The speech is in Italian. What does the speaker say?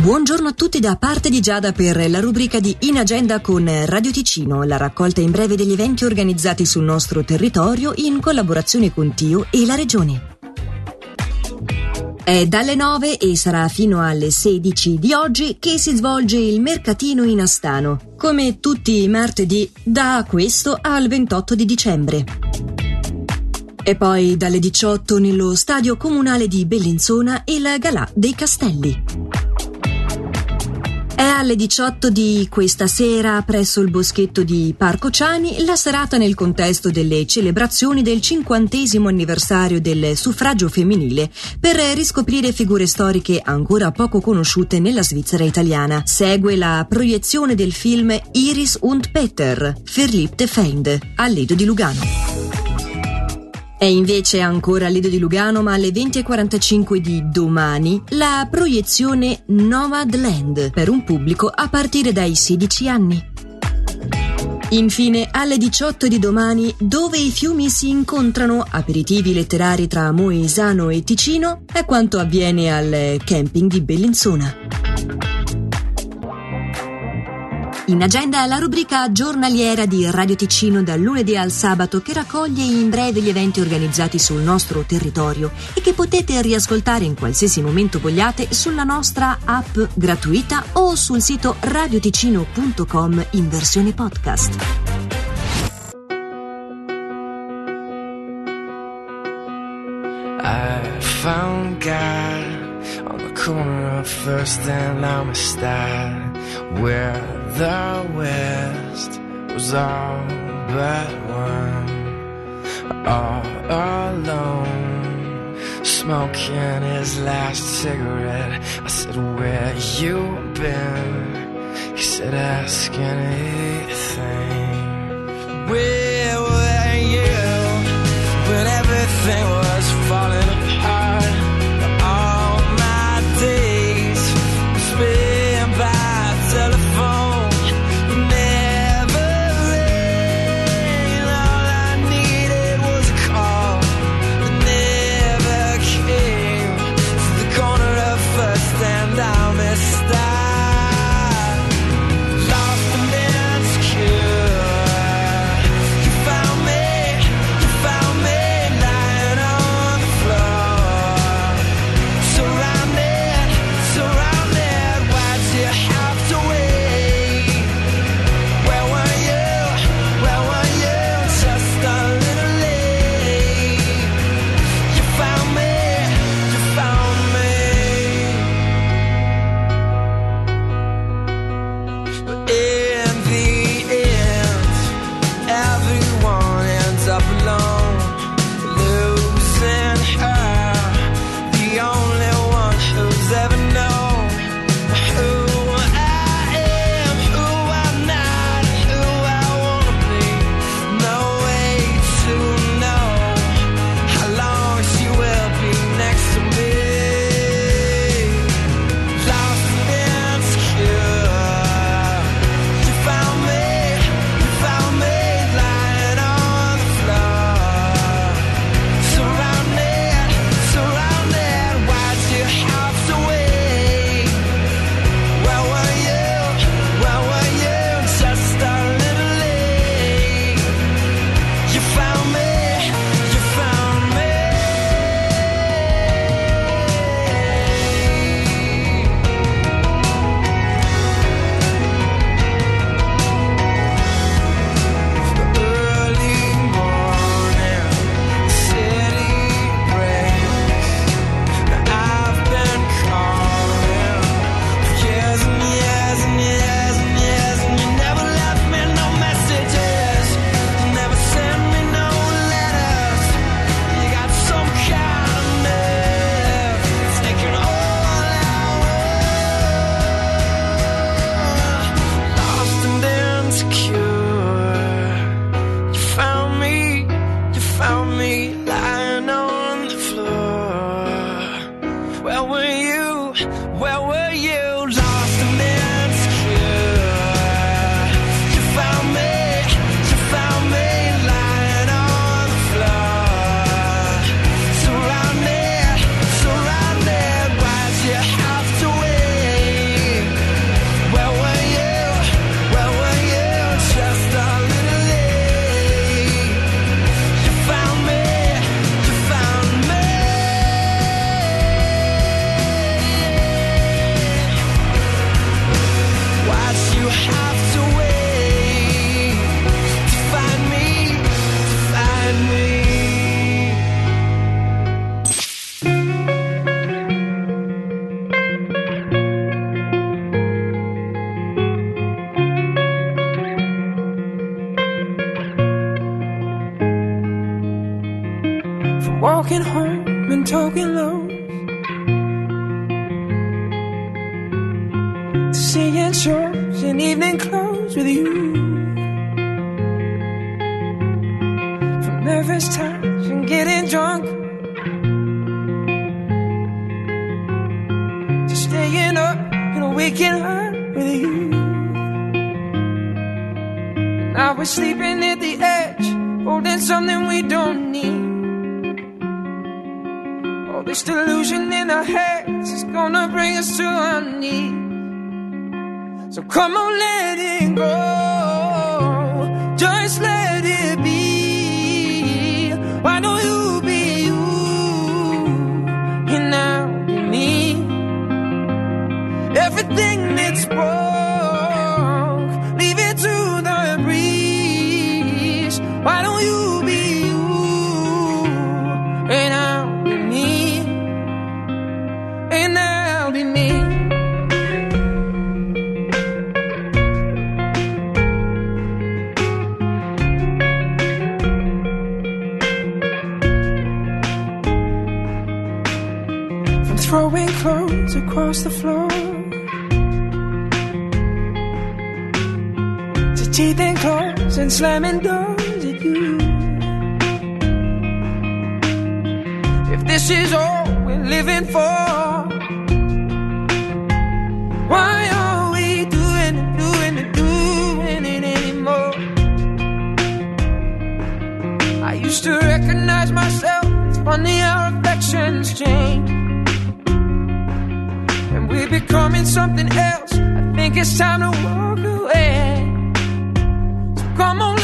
Buongiorno a tutti da parte di Giada per la rubrica di In Agenda con Radio Ticino, la raccolta in breve degli eventi organizzati sul nostro territorio in collaborazione con Tio e la Regione. È dalle 9 e sarà fino alle 16 di oggi che si svolge il mercatino in Astano, come tutti i martedì da questo al 28 di dicembre. E poi dalle 18 nello stadio comunale di Bellinzona il Galà dei Castelli. È alle 18 di questa sera, presso il boschetto di Parco Ciani, la serata nel contesto delle celebrazioni del 50° anniversario del suffragio femminile, per riscoprire figure storiche ancora poco conosciute nella Svizzera italiana. Segue la proiezione del film Iris und Peter, Verliebte Feinde, al Lido di Lugano. È invece ancora a Lido di Lugano, ma alle 20:45 di domani, la proiezione Nomadland per un pubblico a partire dai 16 anni. Infine, alle 18 di domani, Dove i fiumi si incontrano, aperitivi letterari tra Moesano e Ticino, è quanto avviene al camping di Bellinzona. In agenda la rubrica giornaliera di Radio Ticino dal lunedì al sabato, che raccoglie in breve gli eventi organizzati sul nostro territorio e che potete riascoltare in qualsiasi momento vogliate sulla nostra app gratuita o sul sito radioticino.com in versione podcast. I found God on the corner of First and Amistad, where the West was all but one, all alone, smoking his last cigarette. I said, where you been? He said, ask anything. Where were you when everything was falling apart? All my days spent by telephone, never rain. All I needed was a call that never came. To the corner of First and Amistad, lost and insecure. You found me lying on the floor, surrounded. Why'd you have to wait? Where were you? Just a little late. You found me. But in the end, everyone ends up alone, losing her, the only one who's ever known who I am, who I'm not, who I wanna be. No way to know how long she will be next to me. Lost and insecure. You found me lying on the floor, surrounded. Why'd you have to wait? Where were you? Just a little late. You found me. Early morning, city breaks. I've been calling for years and years, and you never left me no messages. You never sent me no letters. You got some kind of nerve, taking all our world. Lost and insecure. You found me lying on the floor. Where were you? Lost and insecure. You found me lying on the floor, surrounded. Why'd you have to wait? seeing shows in evening clothes with you. From nervous touch and getting drunk to staying up and waking up with you. Now we're sleeping at the edge, holding something we don't need. All this delusion in our heads is gonna bring us to our knees. So come on, let it go, just let it be. Why don't you be you, and I'll be me. Everything that's broke, leave it to the breeze. Why don't you be you, and I'll be me, and I'll be me. Throwing clothes across the floor to teething claws and slamming doors at you. If this is all we're living for, why are we doing it anymore? I used to recognize myself. It's funny how affections change. We're becoming something else. I think it's time to walk away. So come on.